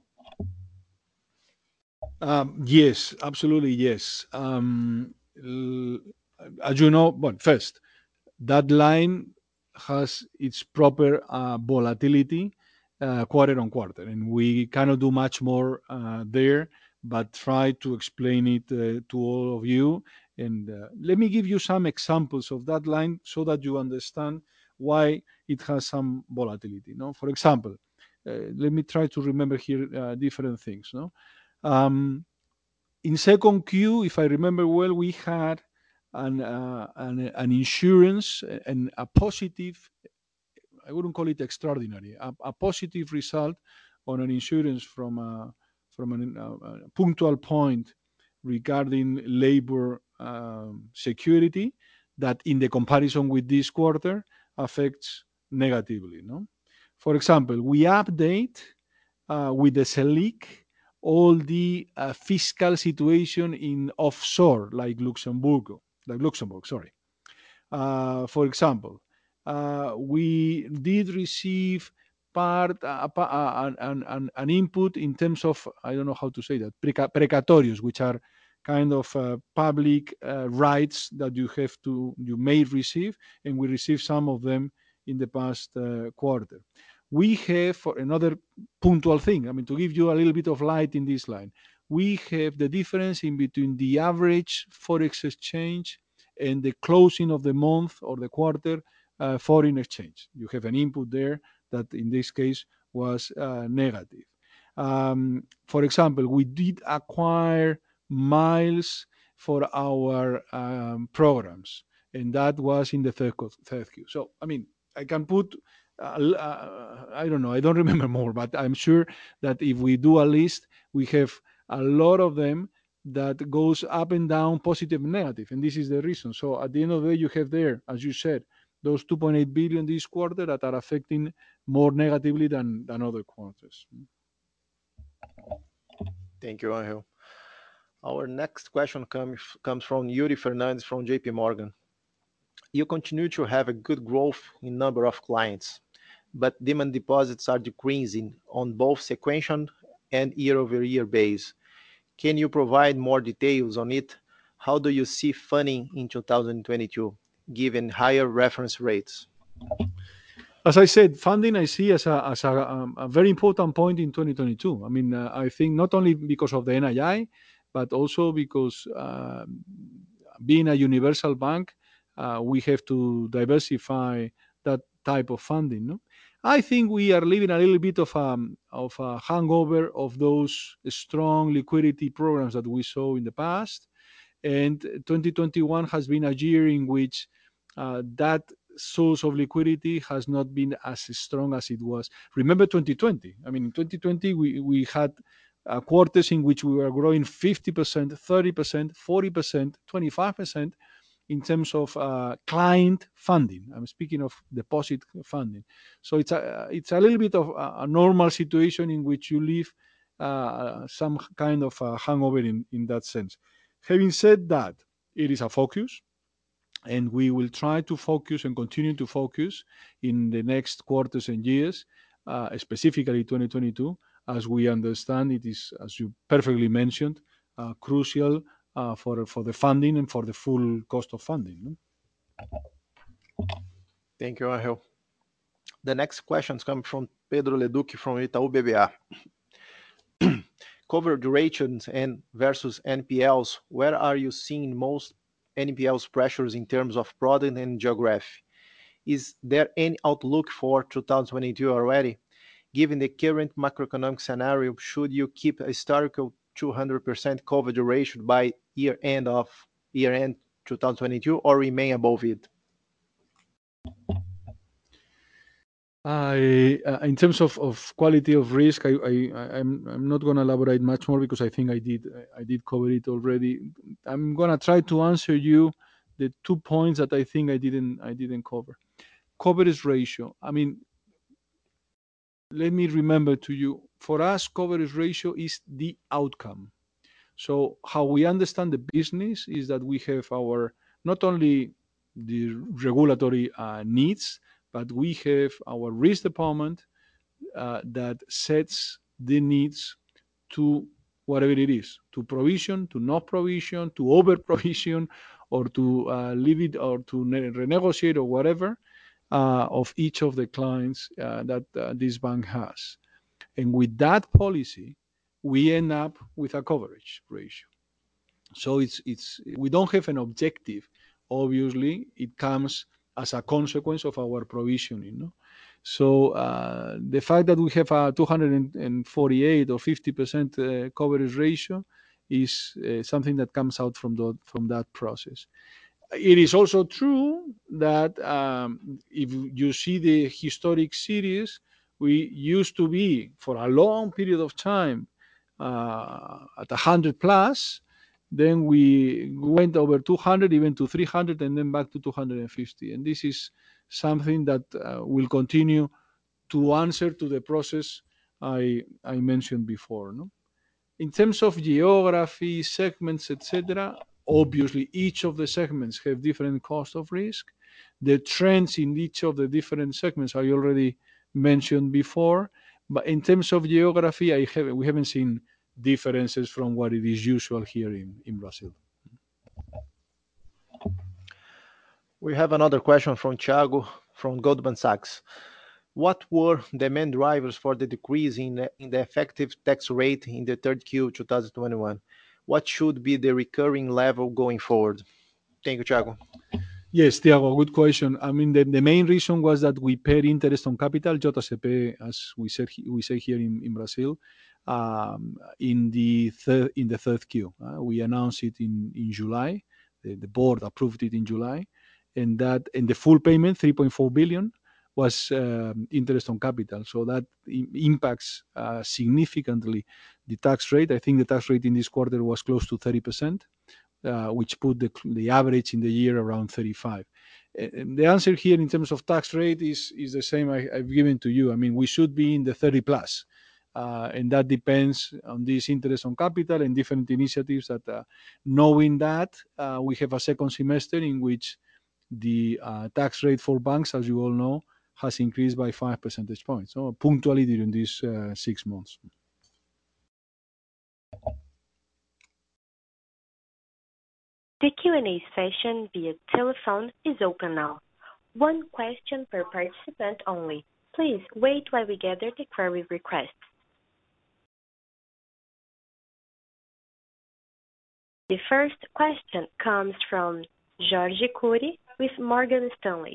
Um, yes, absolutely, yes. Um, l- as you know, well, first, that line has its proper uh, volatility uh, quarter on quarter, and we cannot do much more uh, there, but try to explain it uh, to all of you. And uh, let me give you some examples of that line so that you understand why it has some volatility. No, for example, uh, let me try to remember here uh, different things. No, um, in second Q, if I remember well, we had an uh, an, an insurance and a positive. I wouldn't call it extraordinary. A, a positive result on an insurance from a from an, a, a punctual point regarding labor um, security. That in the comparison with this quarter affects negatively. No, for example, we update uh, with the Selic all the uh, fiscal situation in offshore, like Luxembourg, like Luxembourg. Sorry. Uh, for example, uh, we did receive part uh, uh, an, an, an input in terms of, I don't know how to say that, preca- precatorios, which are kind of uh, public uh, rights that you have to you may receive, and we received some of them in the past uh, quarter. We have, for another punctual thing, I mean, to give you a little bit of light in this line, we have the difference in between the average forex exchange and the closing of the month or the quarter uh, foreign exchange. You have an input there that in this case was uh, negative. Um, for example, we did acquire miles for our um, programs, and that was in the third, third Q. So, I mean, I can put, uh, uh, I don't know, I don't remember more, but I'm sure that if we do a list, we have a lot of them that goes up and down, positive and negative, and this is the reason. So at the end of the day, you have there, as you said, those two point eight billion this quarter that are affecting more negatively than than other quarters. Thank you, Angel. Our next question comes comes from Yuri Fernandez from J P Morgan. You continue to have a good growth in number of clients, but demand deposits are decreasing on both sequential and year-over-year base. Can you provide more details on it? How do you see funding in two thousand twenty-two, given higher reference rates? As I said, funding I see as a as a, um, a very important point in twenty twenty-two. I mean, uh, I think not only because of the N I I, but also because uh, being a universal bank, uh, we have to diversify that type of funding. No? I think we are living a little bit of a, of a hangover of those strong liquidity programs that we saw in the past. And twenty twenty-one has been a year in which uh, that source of liquidity has not been as strong as it was. Remember twenty twenty? I mean, in twenty twenty, we, we had uh, quarters in which we were growing fifty percent, thirty percent, forty percent, twenty-five percent in terms of uh, client funding. I'm speaking of deposit funding. So it's a, it's a little bit of a, a normal situation in which you live uh, some kind of a hangover in, in that sense. Having said that, it is a focus, and we will try to focus and continue to focus in the next quarters and years, uh, specifically twenty twenty-two, as we understand it is, as you perfectly mentioned, uh, crucial uh, for for the funding and for the full cost of funding. No? Thank you, Angel. The next questions come from Pedro Leduc from Itaú B B A. Cover durations and versus N P Ls, where are you seeing most N P Ls pressures in terms of product and geography? Is there any outlook for two thousand twenty-two already? Given the current macroeconomic scenario, should you keep a historical two hundred percent coverage ratio by year end of year end twenty twenty-two or remain above it? I, uh, in terms of, of quality of risk, I, I I'm I'm not going to elaborate much more because I think I did I did cover it already. I'm going to try to answer you the two points that I think I didn't I didn't cover. Coverage ratio. I mean, let me remember to you. For us, coverage ratio is the outcome. So how we understand the business is that we have our not only the regulatory uh, needs, but we have our risk department uh, that sets the needs to whatever it is, to provision, to not provision, to over provision, or to uh, leave it or to ne- renegotiate or whatever uh, of each of the clients uh, that uh, this bank has. And with that policy, we end up with a coverage ratio. So it's it's we don't have an objective. Obviously, it comes as a consequence of our provisioning. No? So uh, the fact that we have a two hundred forty-eight or fifty percent uh, coverage ratio is uh, something that comes out from the, from that process. It is also true that um, if you see the historic series, we used to be for a long period of time uh, at one hundred plus. Then we went over two hundred, even to three hundred, and then back to two hundred fifty. And this is something that uh, will continue to answer to the process I, I mentioned before. No? In terms of geography, segments, et cetera, obviously each of the segments have different cost of risk. The trends in each of the different segments I already mentioned before. But in terms of geography, I have, we haven't seen differences from what it is usual here in, in Brazil. We have another question from Thiago from Goldman Sachs. What were the main drivers for the decrease in the, in the effective tax rate in the third Q twenty twenty-one? What should be the recurring level going forward? Thank you, Thiago. Yes, Tiago, good question. I mean, the, the main reason was that we paid interest on capital, J C P, as we said, we say here in, in Brazil, um, in the third in the third Q. Uh, we announced it in in July. The, the board approved it in July, and that and the full payment, three point four billion, was um, interest on capital. So that I- impacts uh, significantly the tax rate. I think the tax rate in this quarter was close to thirty percent. Uh, which put the, the average in the year around thirty-five. And the answer here in terms of tax rate is, is the same I, I've given to you. I mean, we should be in the thirty plus. Uh, and that depends on this interest on capital and different initiatives that, uh, knowing that, uh, we have a second semester in which the uh, tax rate for banks, as you all know, has increased by five percentage points, so punctually during these uh, six months. The Q and A session via telephone is open now. One question per participant only. Please wait while we gather the query requests. The first question comes from Jorge Kuri with Morgan Stanley.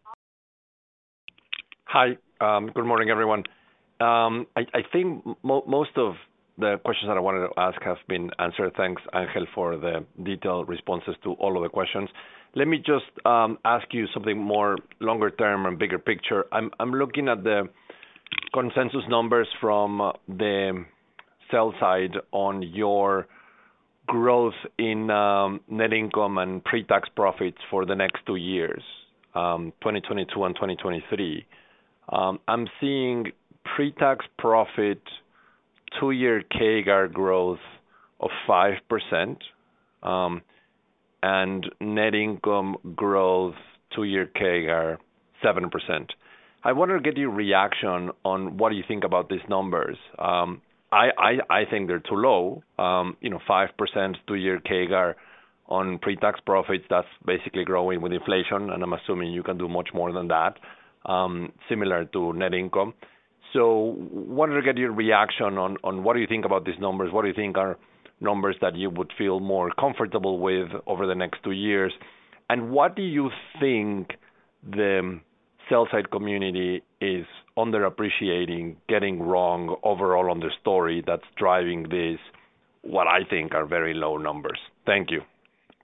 Hi. Um, good morning, everyone. Um, I, I think mo- most of the questions that I wanted to ask have been answered. Thanks, Angel, for the detailed responses to all of the questions. Let me just um, ask you something more longer term and bigger picture. I'm, I'm looking at the consensus numbers from the sell side on your growth in um, net income and pre-tax profits for the next two years, um, twenty twenty-two and twenty twenty-three. Um, I'm seeing pre-tax profit two-year C A G R growth of five percent um, and net income growth two-year C A G R seven percent. I wanted to get your reaction on what do you think about these numbers. Um, I, I, I think they're too low. Um, you know, five percent two-year C A G R on pre-tax profits, that's basically growing with inflation, and I'm assuming you can do much more than that, um, similar to net income. So wanted to get your reaction on, on what do you think about these numbers? What do you think are numbers that you would feel more comfortable with over the next two years? And what do you think the sell-side community is underappreciating, getting wrong overall on the story that's driving these, what I think are very low numbers? Thank you.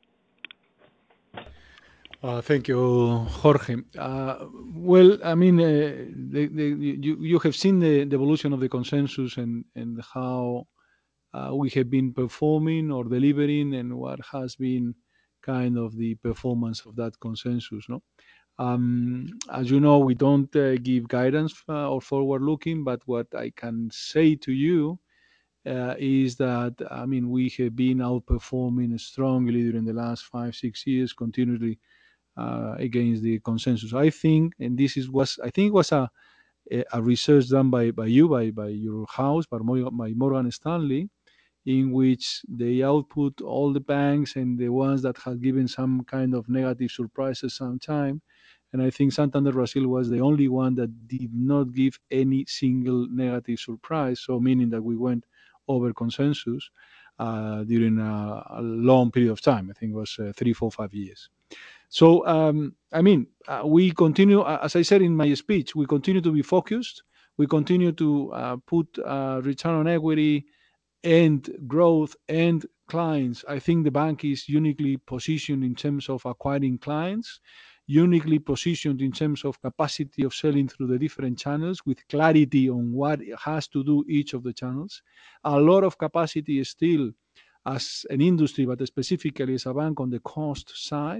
Uh, thank you, Jorge. Uh, well, I mean, uh, the, the, you, you have seen the, the evolution of the consensus and, and how uh, we have been performing or delivering and what has been kind of the performance of that consensus. No, um, as you know, we don't uh, give guidance uh, or forward looking, but what I can say to you uh, is that, I mean, we have been outperforming strongly during the last five, six years, continually uh, against the consensus. I think, and this is was I think it was a a research done by, by you, by by your house, by Morgan, by Morgan Stanley, in which they output all the banks and the ones that had given some kind of negative surprises sometime. And I think Santander Brazil was the only one that did not give any single negative surprise. So meaning that we went over consensus uh, during a, a long period of time. I think it was uh, three, four, five years. So, um, I mean, uh, we continue, uh, as I said in my speech, we continue to be focused. We continue to uh, put uh, return on equity and growth and clients. I think the bank is uniquely positioned in terms of acquiring clients, uniquely positioned in terms of capacity of selling through the different channels with clarity on what it has to do each of the channels. A lot of capacity is still as an industry, but specifically as a bank on the cost side.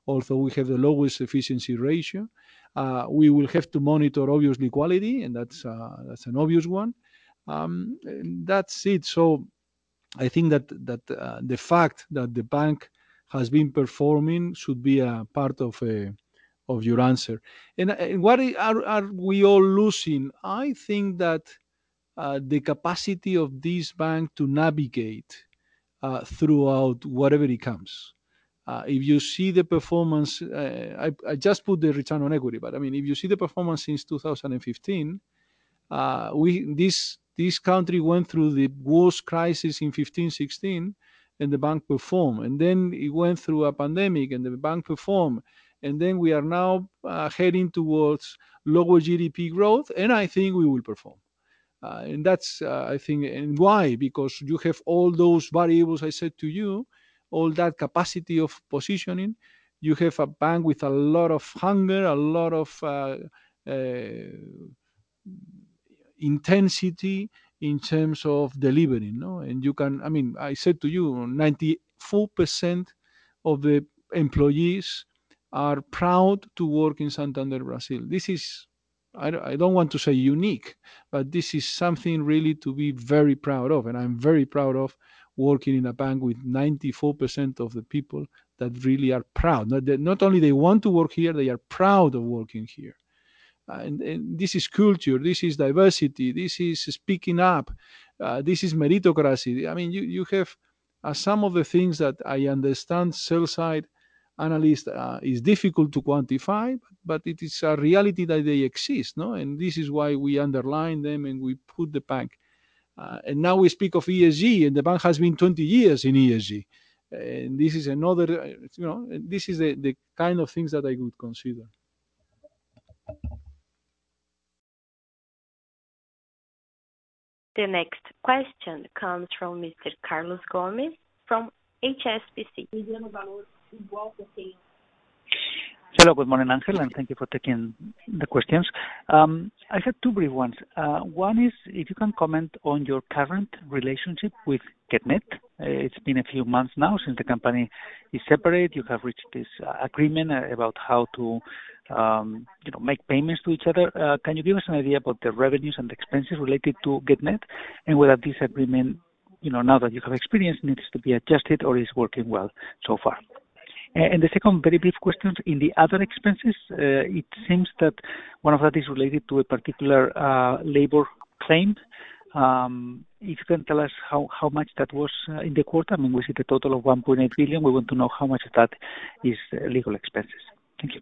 although we have the lowest efficiency ratio. Uh, we will have to monitor, obviously, quality, and that's uh, that's an obvious one. Um, that's it. So I think that that uh, the fact that the bank has been performing should be a part of a, of your answer. And, and what are, are we all losing? I think that uh, the capacity of this bank to navigate uh, throughout whatever it comes. Uh, if you see the performance, uh, I, I just put the return on equity, but I mean, if you see the performance since two thousand fifteen, uh, we this this country went through the worst crisis in fifteen sixteen, and the bank performed, and then it went through a pandemic, and the bank performed, and then we are now uh, heading towards lower G D P growth, and I think we will perform. Uh, and that's, uh, I think, and why? Because you have all those variables I said to you, all that capacity of positioning. You have a bank with a lot of hunger, a lot of uh, uh, intensity in terms of delivering. No? And you can, I mean, I said to you, ninety-four percent of the employees are proud to work in Santander, Brazil. This is, I don't want to say unique, but this is something really to be very proud of. And I'm very proud of working in a bank with ninety-four percent of the people that really are proud. Not, that, not only they want to work here, they are proud of working here. Uh, and, and this is culture, this is diversity, this is speaking up, uh, this is meritocracy. I mean, you, you have uh, some of the things that I understand sell side analyst uh, is difficult to quantify, but it is a reality that they exist, no? And this is why we underline them and we put the bank. Uh, and now we speak of E S G, and the bank has been twenty years in E S G. And this is another, you know, this is the, the kind of things that I would consider. The next question comes from Mister Carlos Gomez from H S B C. Hello, good morning, Angel, and thank you for taking the questions. Um, I have two brief ones. Uh, one is if you can comment on your current relationship with GetNet. Uh, it's been a few months now since the company is separate. You have reached this uh, agreement uh, about how to um, you know, make payments to each other. Uh, can you give us an idea about the revenues and expenses related to GetNet, and whether this agreement, you know, now that you have experience, needs to be adjusted or is working well so far? And the second very brief question, in the other expenses, uh, it seems that one of that is related to a particular uh, labor claim. Um, if you can tell us how, how much that was uh, in the quarter. I mean, we see the total of one point eight billion. We want to know how much of that is uh, legal expenses. Thank you.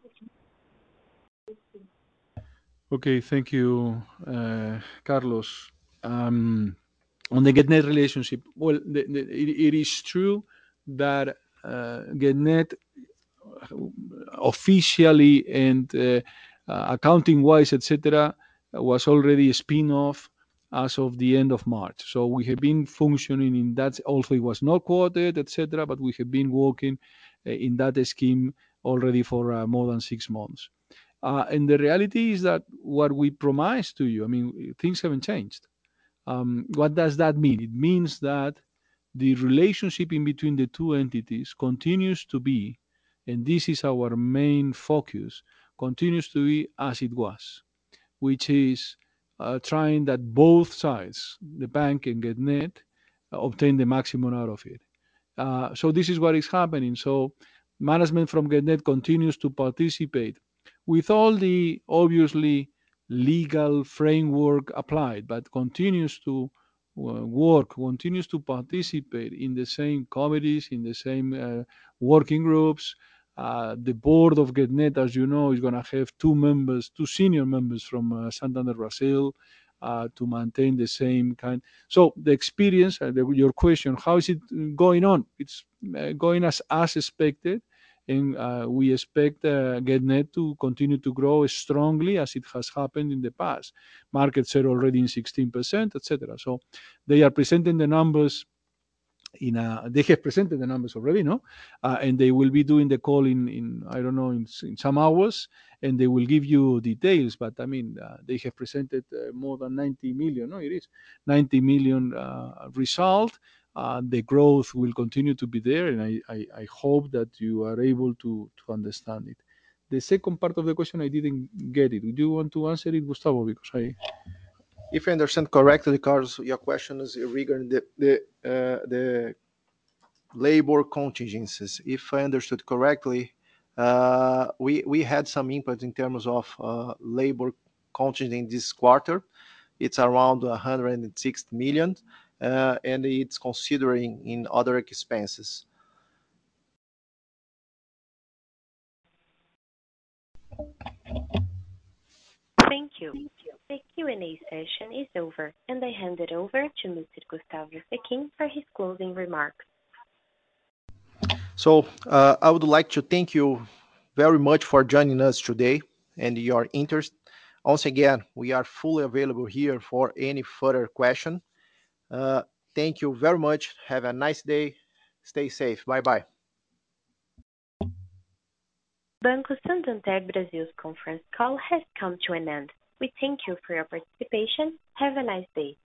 Okay, thank you, uh, Carlos. Um, on the GetNet relationship, well, the, the, it, it is true that uh, GetNet officially and uh, uh, accounting-wise, et cetera, was already a spin-off as of the end of March. So we have been functioning in that, although it was not quoted, et cetera, but we have been working uh, in that scheme already for uh, more than six months. Uh, and the reality is that what we promised to you, I mean, things haven't changed. Um, what does that mean? It means that the relationship in between the two entities continues to be, and this is our main focus, continues to be as it was, which is uh, trying that both sides, the bank and GetNet, uh, obtain the maximum out of it. Uh, so this is what is happening. So management from GetNet continues to participate with all the obviously legal framework applied, but continues to uh, work, continues to participate in the same committees, in the same uh, working groups. Uh, the board of GetNet, as you know, is going to have two members, two senior members from uh, Santander Brazil, uh, to maintain the same kind. So the experience, uh, the, your question, how is it going on? It's uh, going as as expected. And uh, we expect uh, GetNet to continue to grow strongly as it has happened in the past. Market share already in sixteen percent, et cetera. So they are presenting the numbers in a, they have presented the numbers already, no? Uh, and they will be doing the call in, in I don't know, in, in some hours, and they will give you details. But I mean, uh, they have presented uh, more than ninety million, no, it is ninety million uh, result. uh, the growth will continue to be there, and I, I, I hope that you are able to, to understand it. The second part of the question, I didn't get it. Do you want to answer it, Gustavo? Because I If I understand correctly, Carlos, your question is regarding the the uh, the labor contingencies. If I understood correctly, uh, we we had some input in terms of uh, labor contingent this quarter. It's around one hundred sixty million, uh, and it's considering in other expenses. Thank you. The Q and A session is over, and I hand it over to Mister Gustavo Sechin for his closing remarks. So uh, I would like to thank you very much for joining us today and your interest. Once again, we are fully available here for any further question. Uh, thank you very much. Have a nice day. Stay safe. Bye bye. Banco Santander Brasil's conference call has come to an end. We thank you for your participation. Have a nice day.